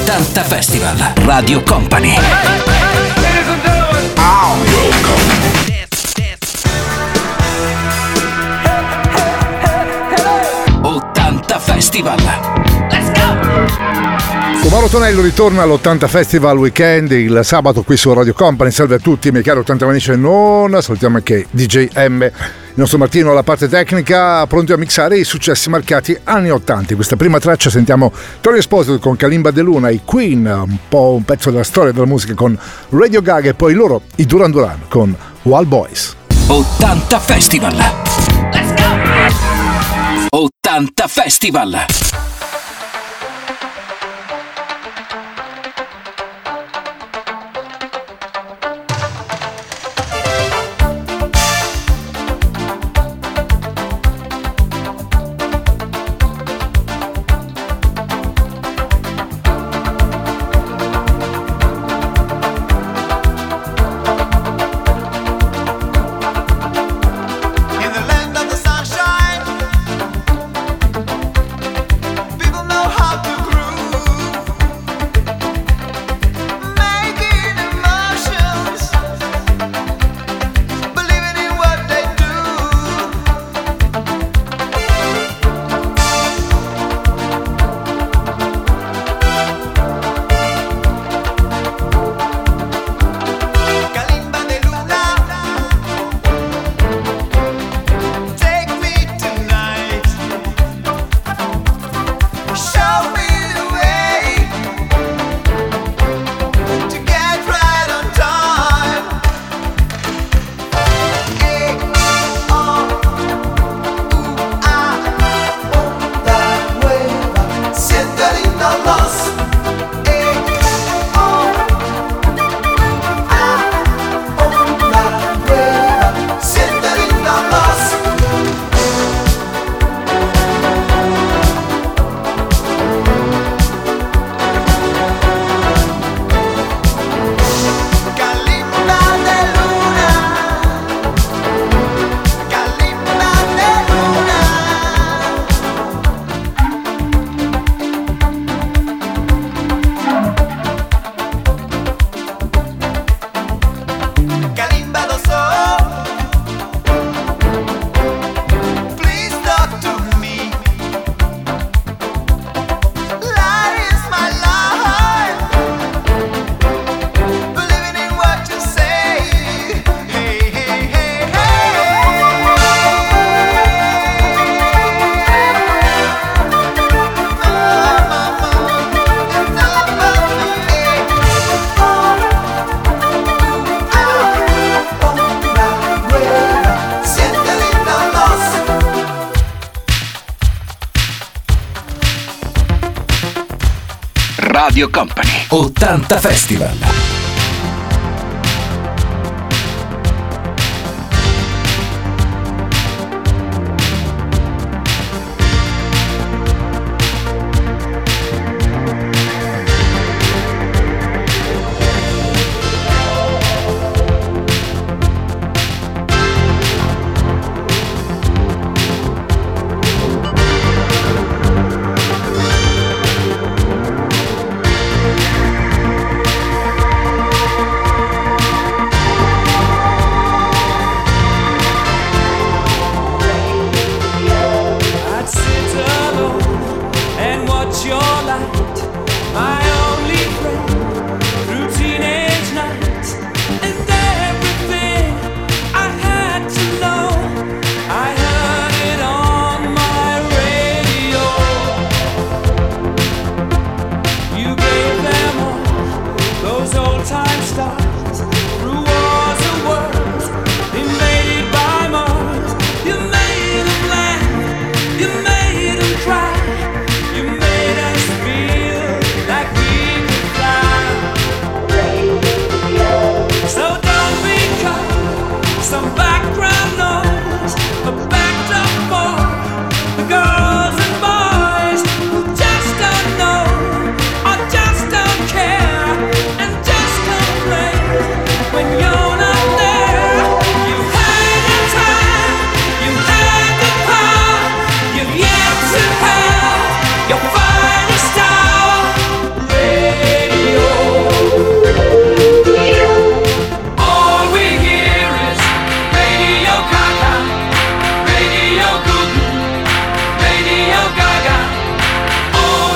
80 Festival, Radio Company. 80 Festival. Let's go! Mauro Tonello ritorna all'80 Festival Weekend il sabato qui su Radio Company. Salve a tutti, miei cari 80 amici, non salutiamo anche DJ M, il nostro Martino alla parte tecnica, pronti a mixare i successi marcati anni 80. In questa prima traccia sentiamo Tori Esposito con Kalimba De Luna, i Queen, un po' un pezzo della storia della musica con Radio Gaga, e poi loro, i Duran Duran con Wild Boys. 80 Festival. Let's go! 80 Festival. Radio Company 80 Festival. You made them cry, you made us feel like we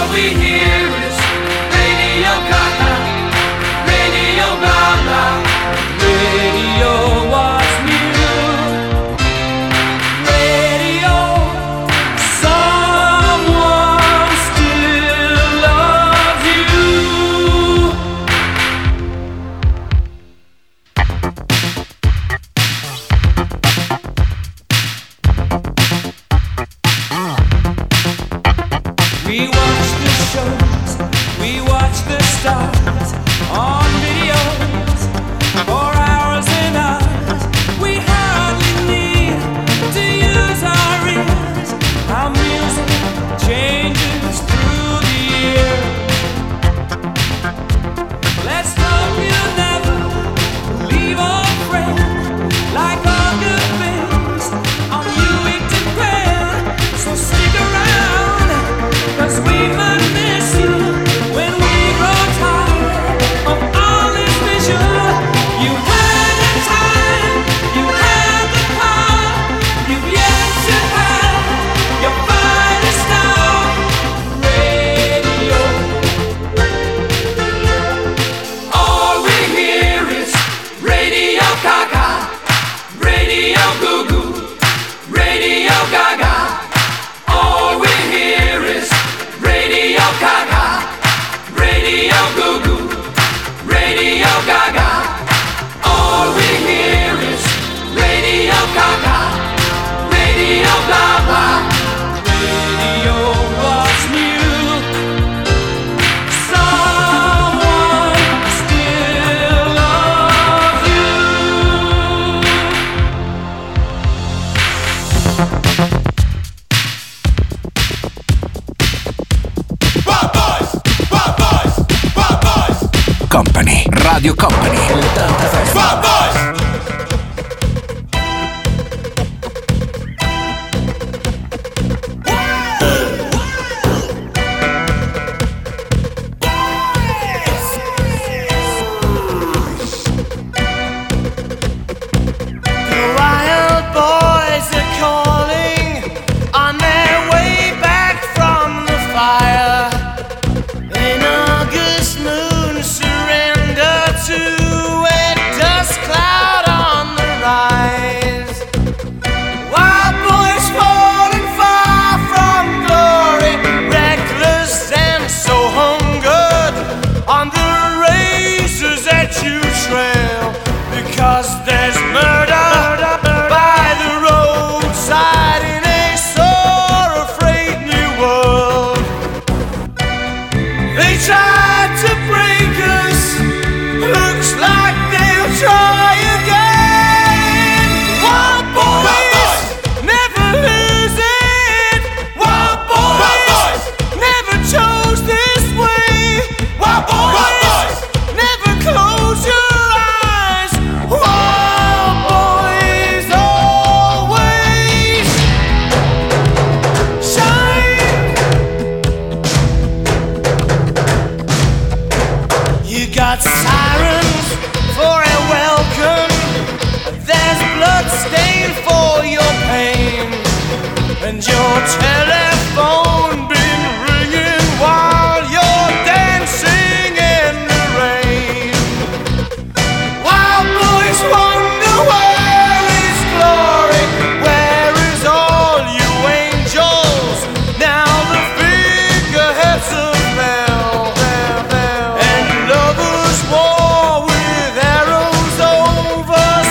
Company, Radio Company, 80 Festival.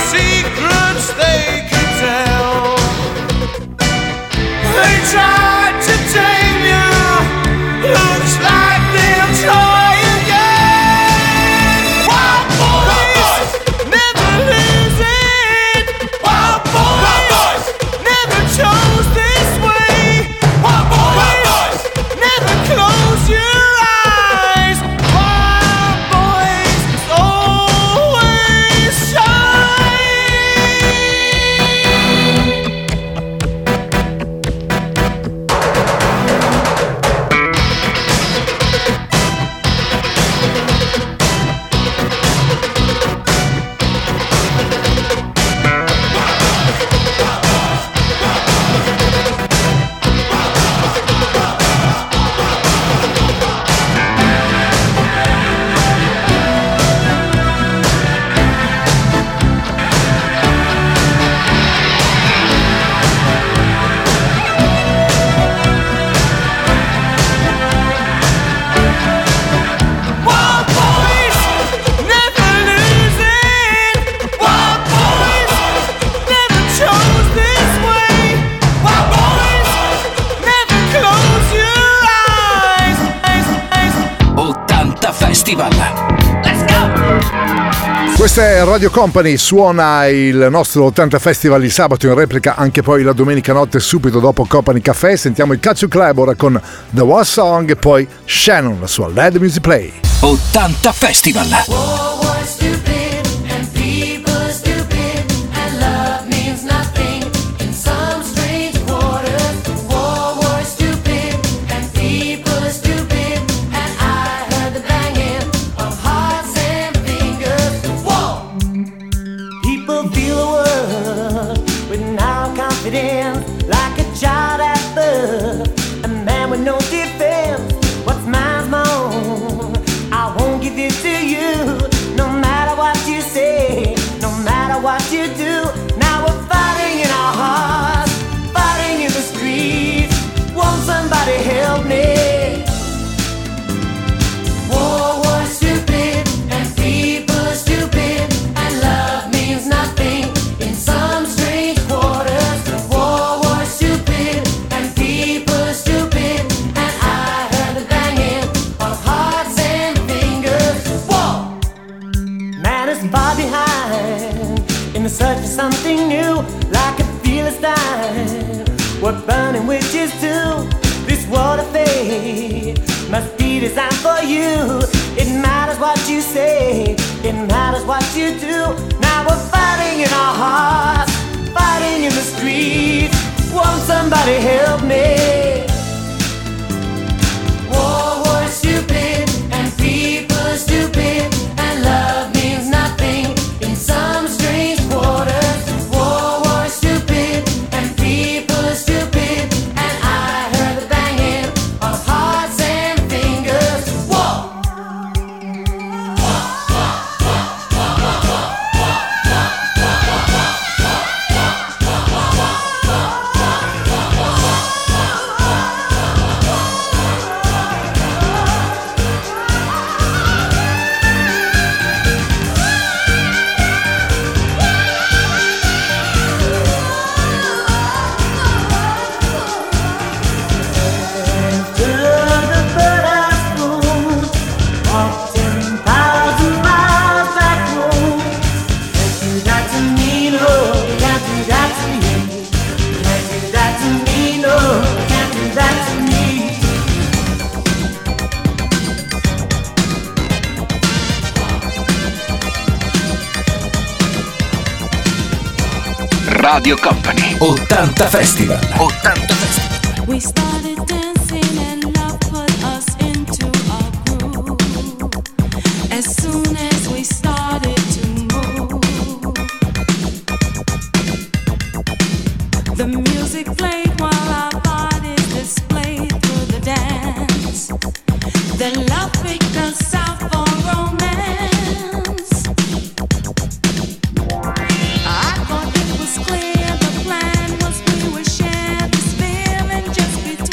They tried Festival. Let's go! Questa è Radio Company, suona il nostro 80 Festival il sabato, in replica anche poi la domenica notte subito dopo Company Café. Sentiamo il Calcio Club ora con The War Song e poi Shannon, la sua Let the Music Play. 80 Festival. Like a child at birth, a man with no defense. What's mine's my own. I won't give it to you, no matter what you say, no matter what you do. Now we're fighting in our hearts, fighting in the streets. Won't somebody help me? War was stupid and people are stupid, and love means nothing in some strange quarters. Search for something new, like a Philistine. What burning witches do? This world of fate must be designed for you. It matters what you say, it matters what you do. Now we're fighting in our hearts, fighting in the streets. Won't somebody help me? War was stupid and people are stupid, and love means nothing in some strange quarters. War was stupid and people are stupid, and I heard the banging of hearts and fingers. War. Radio Company 80 Festival. 80 Festival. We started dancing and love put us into a groove. As soon as we started to move, the music played while our bodies displayed through the dance. The love picked us out for romance. I thought it was clear the plan was we would share this feeling just between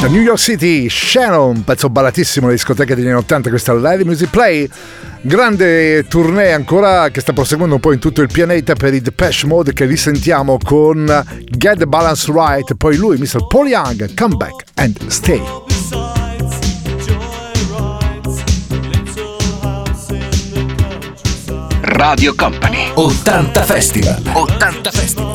Da New York City, Shannon, pezzo ballatissimo alle discoteche degli anni 80, questa Live Music Play. Grande tournée ancora che sta proseguendo un po' in tutto il pianeta per i Depeche Mode, che risentiamo con Get the Balance Right. Poi lui, Mr. Paul Young, Come Back and Stay. Radio Company 80 Festival. 80 Festival.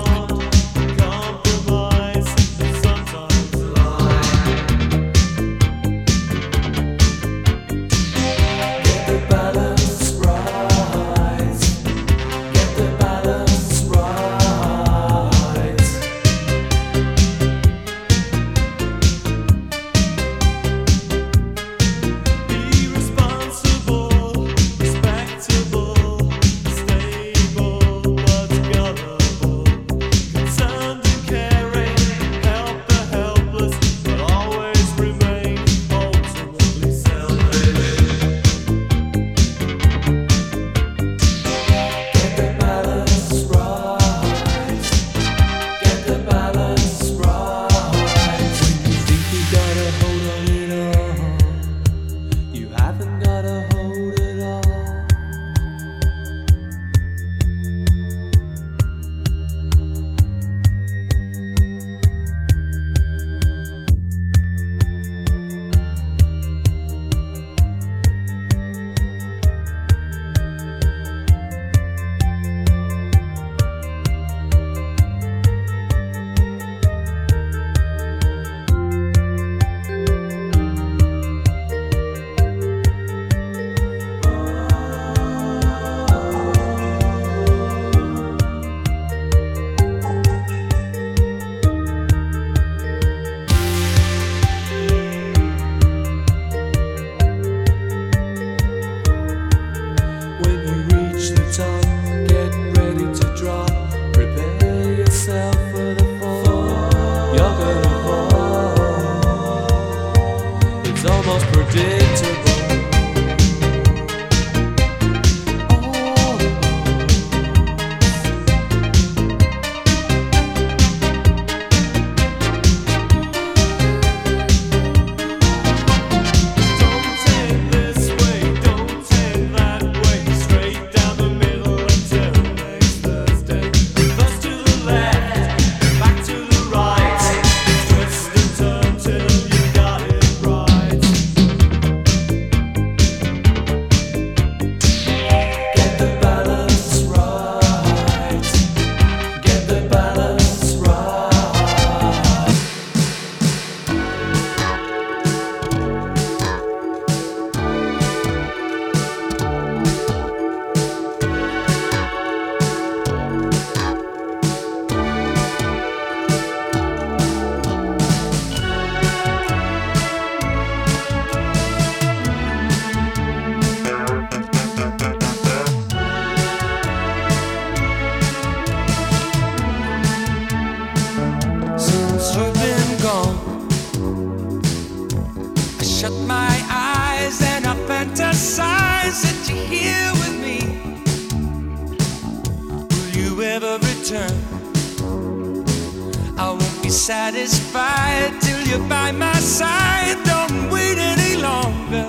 Satisfied till you're by my side. Don't wait any longer.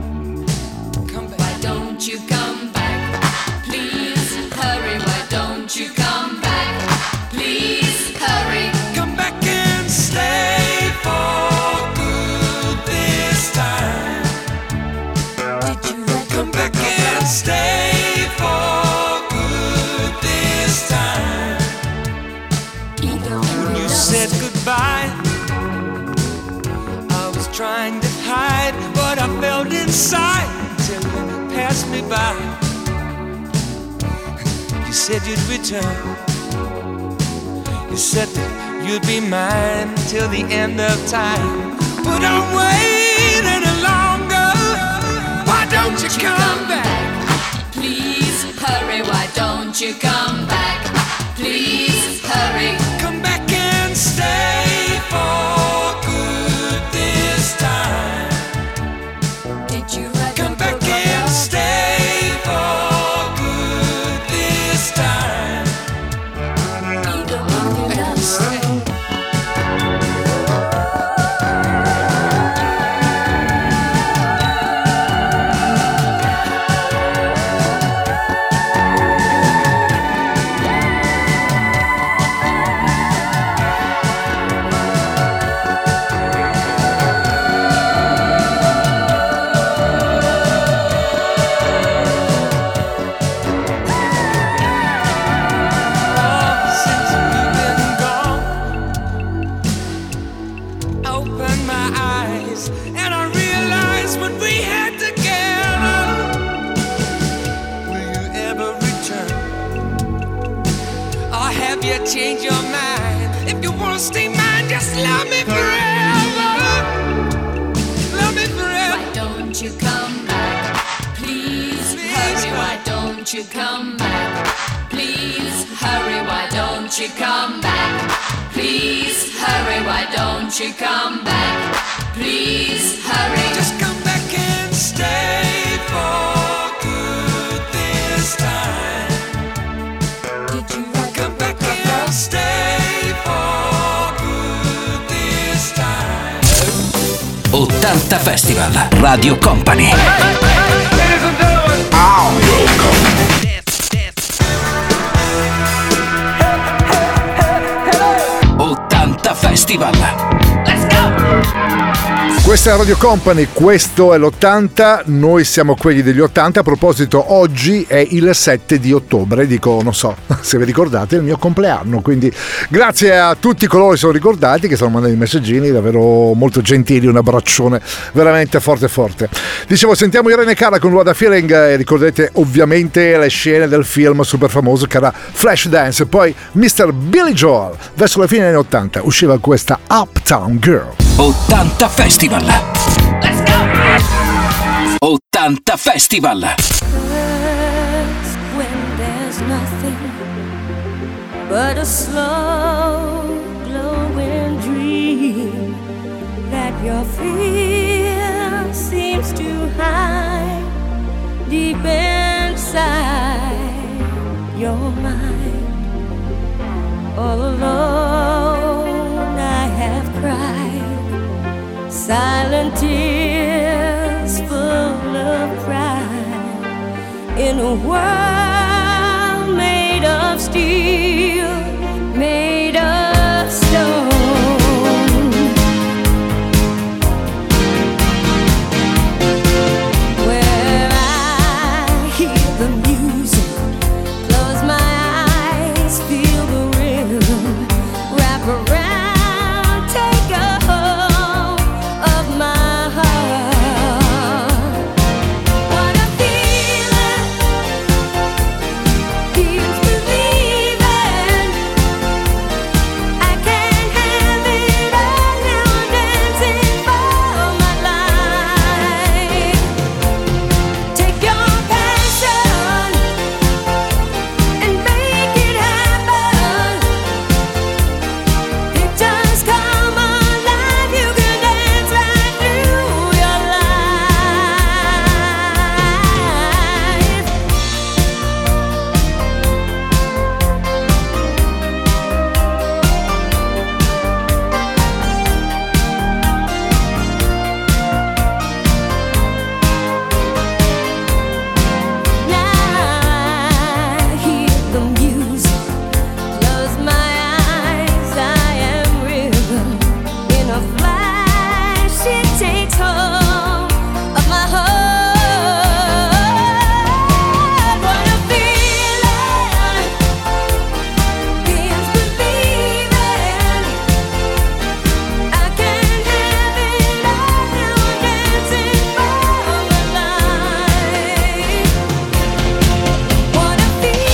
Come back. Why don't you come back? Please hurry. Why don't you come back? Please hurry. Come back and stay for good this time. Did you come back and stay for good this time? When you said goodbye, I was trying to hide what I felt inside till you passed me by. You said you'd return. You said that you'd be mine till the end of time. But don't wait any longer. Why don't you come back? Please hurry. Why don't you come back? Please hurry. Come back and stay for good this time. Did you come back and stay for good this time? you change your mind. If you wanna stay mine, just love me forever. Love me forever. Why don't you come back? Please hurry, why don't you come back? Please hurry, why don't you come back? Please hurry, why don't you come back? Please hurry. Just come back and stay for good this time. Did you Come back and stay for good this time. 80 Festival Radio Company. Ladies and gentlemen. 80 Festival. Let's go. Questa è Radio Company, questo è l'80, noi siamo quelli degli 80. A proposito, oggi è il 7 di ottobre, dico, non so se vi ricordate, è il mio compleanno, quindi grazie a tutti coloro che sono ricordati, che stanno mandando i messaggini, davvero molto gentili, un abbraccione veramente forte forte. Dicevo, sentiamo Irene Cara con What a Feeling, e ricordate ovviamente le scene del film super famoso che era Flashdance. Poi Mr. Billy Joel, verso la fine degli anni 80 usciva questa Uptown Girl. 80 Festival. Let's go. 80 Festival. When there's nothing but a slow glowing dream that your fear seems to hide deep inside your mind. All alone I have cried silent tears full of pride in a world made of steel, made of stone. Where I hear the music, close my eyes, feel the rhythm, wrap around, take a hold of my heart. What a feeling, feels believing. I can't have it all now, dancing for my life. Take your passion and make it happen. Pictures come alive, you can dance right through your life. Now I hear the music, close my eyes, I am rhythm. In a flash it takes hold of my heart. What a feeling, feels believing. I can't have it all now, dancing for my life. What a feeling.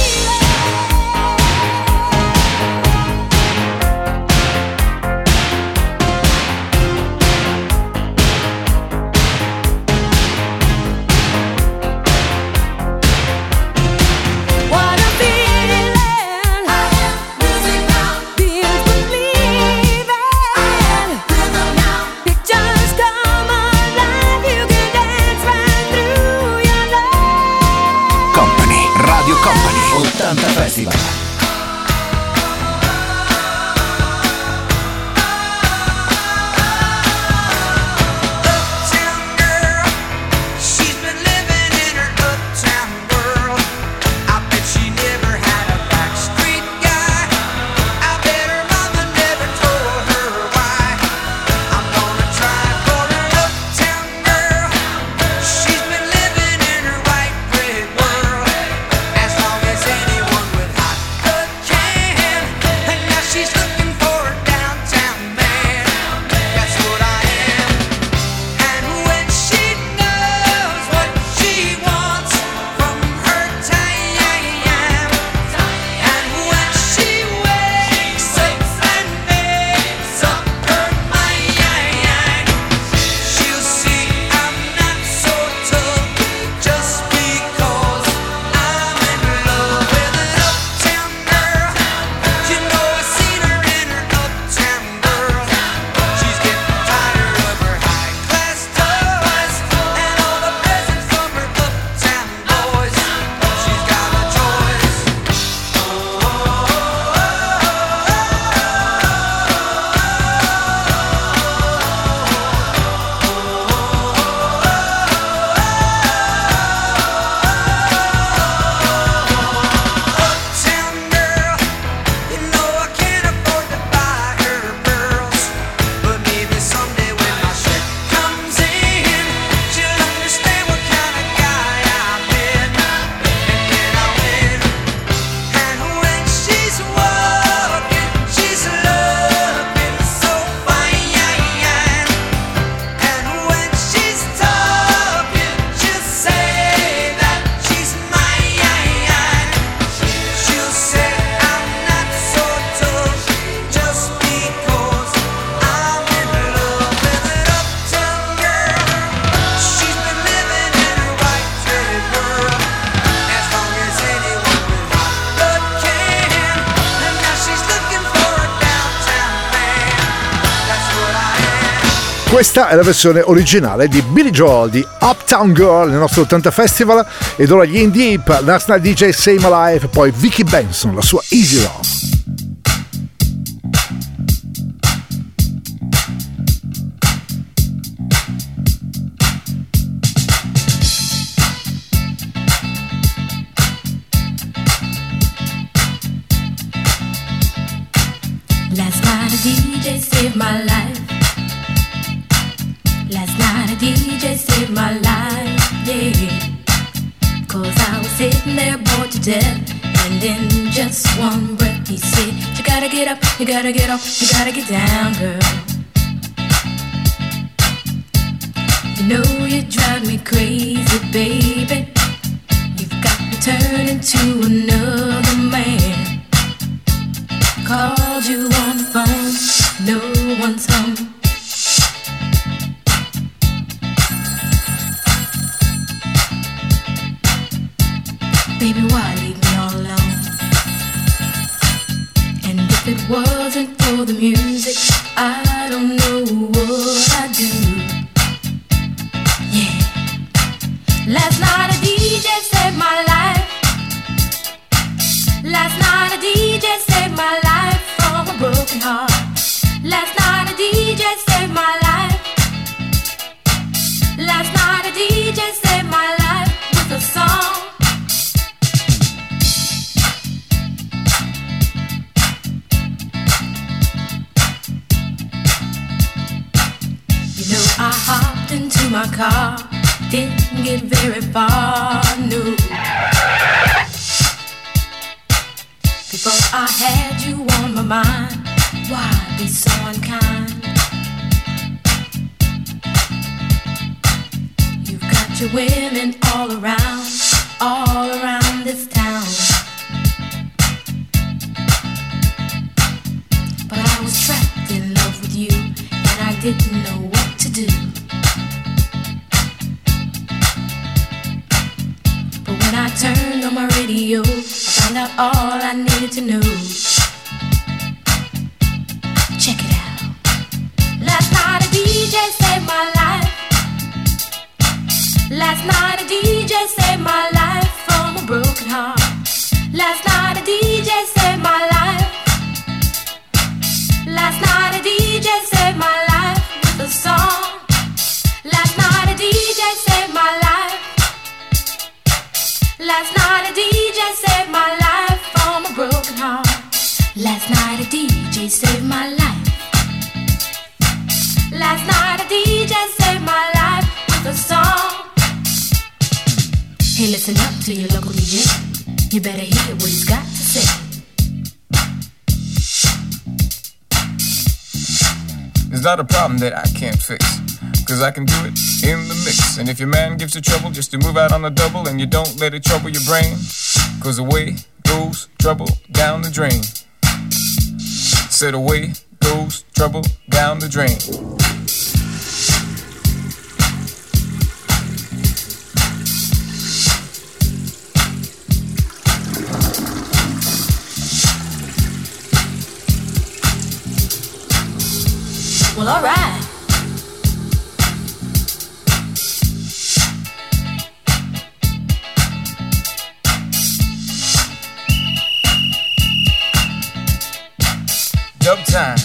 What a feeling. I am music now. Feels believing. I am rhythm now. Pictures come alive. You can dance right through your life. Company, Radio Company. 80 Festival. Uptown girl, she's been living in her uptown world. I bet she never had a backstreet guy. I bet her mama never told her why. I'm gonna try for her uptown girl. She's been living in her white bread world. As long as anyone with hot Questa è la versione originale di Billy Joel di Uptown Girl nel nostro 80 Festival, ed ora gli In Deep, Last Night DJ Save My Life, poi Vicky Benson, la sua Easy Love. Last night a DJ saved my life. Last night a DJ saved my life, yeah. 'Cause I was sitting there bored to death, and in just one breath he said, you gotta get up, you gotta get off, you gotta get down, girl. You know you drive me crazy, baby. You've got me turning to another man. Called you on the phone, no one's home. Baby, why leave me all alone? And if it wasn't for the music, I don't know what I'd do. Yeah. Last night a DJ saved my life. Last night a DJ saved my life from a broken heart. Last night a DJ saved my life. Last night a DJ saved my life with a song. You know I hopped into my car, didn't get very far, no. Before I had you on my mind, why be so unkind? You've got your women all around this town. But I was trapped in love with you, and I didn't know what to do. But when I turned on my radio, I found out all I needed to know. Check it out. Last night a DJ saved my life. Last night a DJ saved my life from a broken heart. Last night a DJ saved my life. Last night a DJ saved my life with a song. Last night a DJ saved my life. Last night a DJ saved my life from a broken heart. Last night a DJ saved my life. Last night a DJ saved my life with a song. Hey, listen up to your local DJ. You better hear what he's got to say. It's not a problem that I can't fix, 'cause I can do it in the mix. And if your man gives you trouble, just to move out on the double, and you don't let it trouble your brain, 'cause away goes trouble down the drain. Said away goes trouble down the drain. Well, all right. Dub time.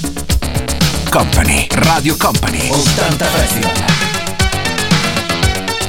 Company, Radio Company, 80 Festival.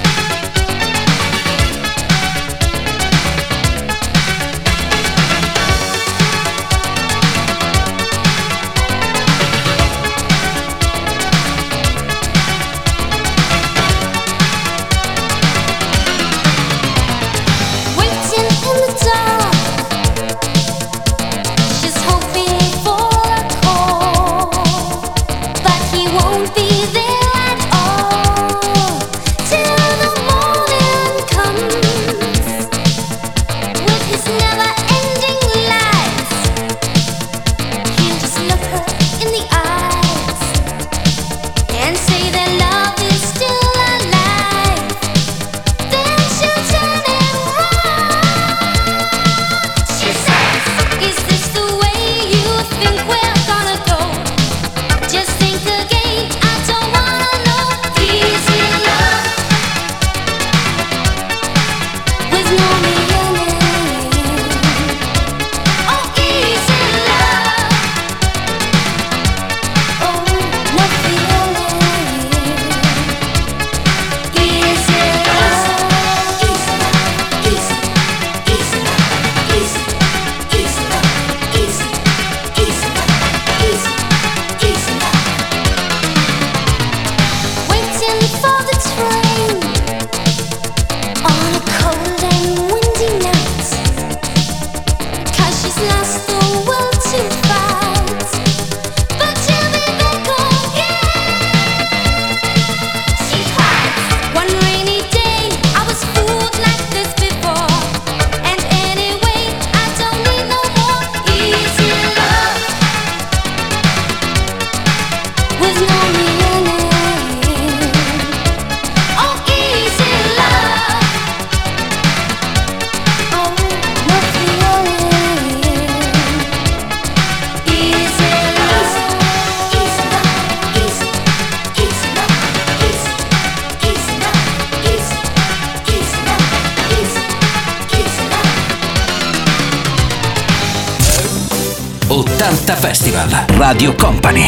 80 Festival, Radio Company.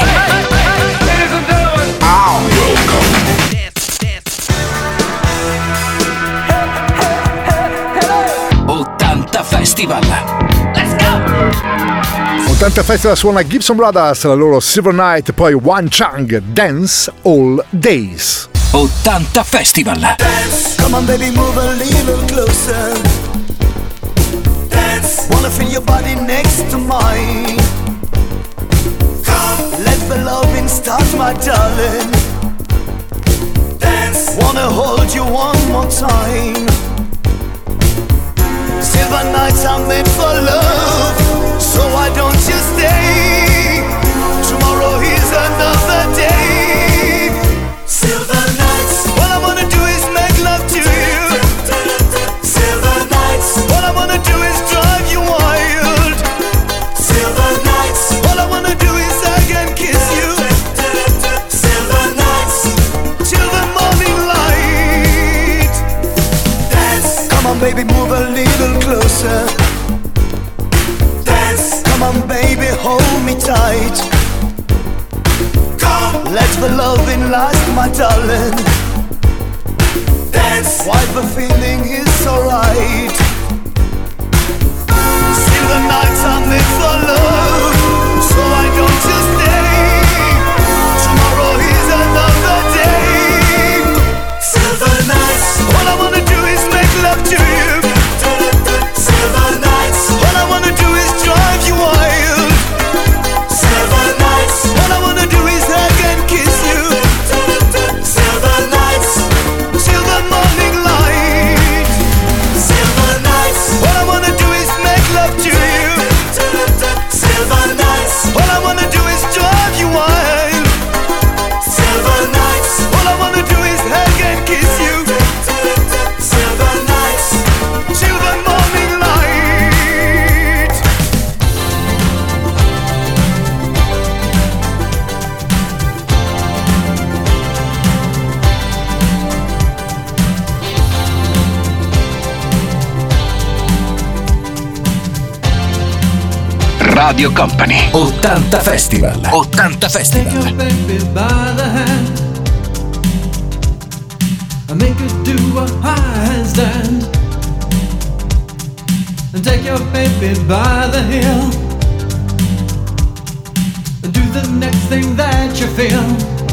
80 Festival. Let's go! 80 Festival suona Gibson Brothers, la loro Silver Night, poi Wan Chang, Dance All Days. 80 Festival. Dance, come on baby, move a little closer. Dance, wanna feel your body next to mine. Come, let the loving start, my darling. Dance, wanna hold you one more time. Silver nights are made for love, so why don't you stay? Tomorrow is another day. Silver nights, all I wanna do is make love to you. Silver nights, all I wanna do is drive you wild. Silver nights, all I wanna do is hug and kiss you. Silver nights, till the morning light. Dance, come on baby, move a little closer. Dance, come on baby, hold me tight. Come, let the loving last, my darling. Dance, why the feeling is so right. Silver nights are made for love, so why don't you stay? Tomorrow is another day. Silver nights, all I wanna do is make love to you. Silver nights, all I wanna do is drive you wild. Silver nights, all I wanna do is hug and kiss you. Silver nights, till the morning light. Silver nights, all I wanna do is make love to you. Silver nights, all I wanna do is drive you wild. Silver nights, all I wanna do is hug and kiss you. Silver nights, till the morning light. Radio Company. 80 Festival. 80 Take your Festival. baby by the hand and make her do a handstand. And take your baby by the heel and do the next thing that you feel.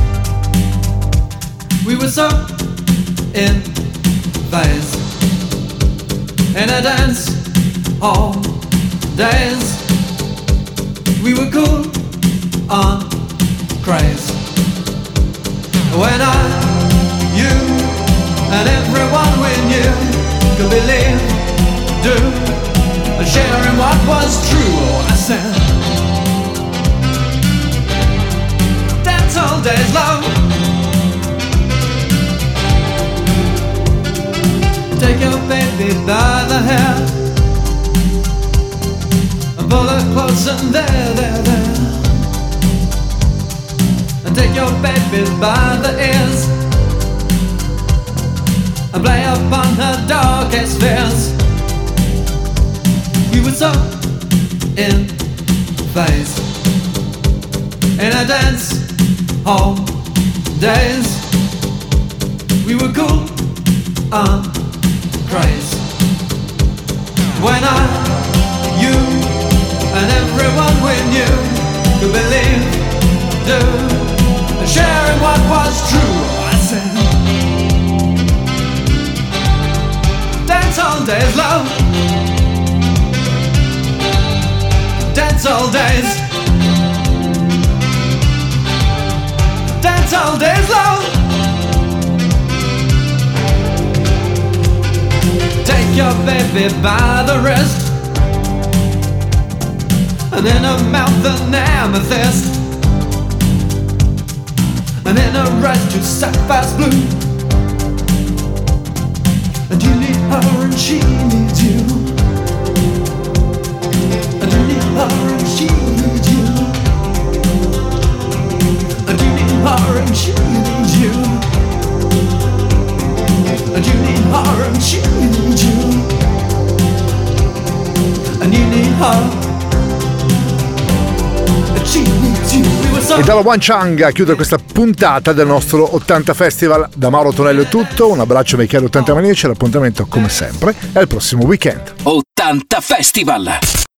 We were so in phase in a dance all days. We were cool on craze. When I, you, and everyone we knew could believe, do, and sharing what was true. Oh, I said, dance all days long. Take your baby by the hair and pull her close and there. And take your baby by the ears and play upon her darkest fears. We were so in phase in a dance hall days. We were cool on craze. When I, you, and everyone we knew could believe, do, and sharing what was true. I said, dance all days, love. Dance all days. Dance all days, love. Take your baby by the wrist and in her mouth an amethyst, and in her eyes two sapphires blue. And you need her and she needs you, and you need her and she needs you, and you need her and she needs you, and you need her and she needs you, and you need her. E dalla One Chang a chiudere questa puntata del nostro 80 Festival. Da Mauro Tonello è tutto, un abbraccio ai cari 80 maniaci, l'appuntamento come sempre è il prossimo weekend. 80 Festival!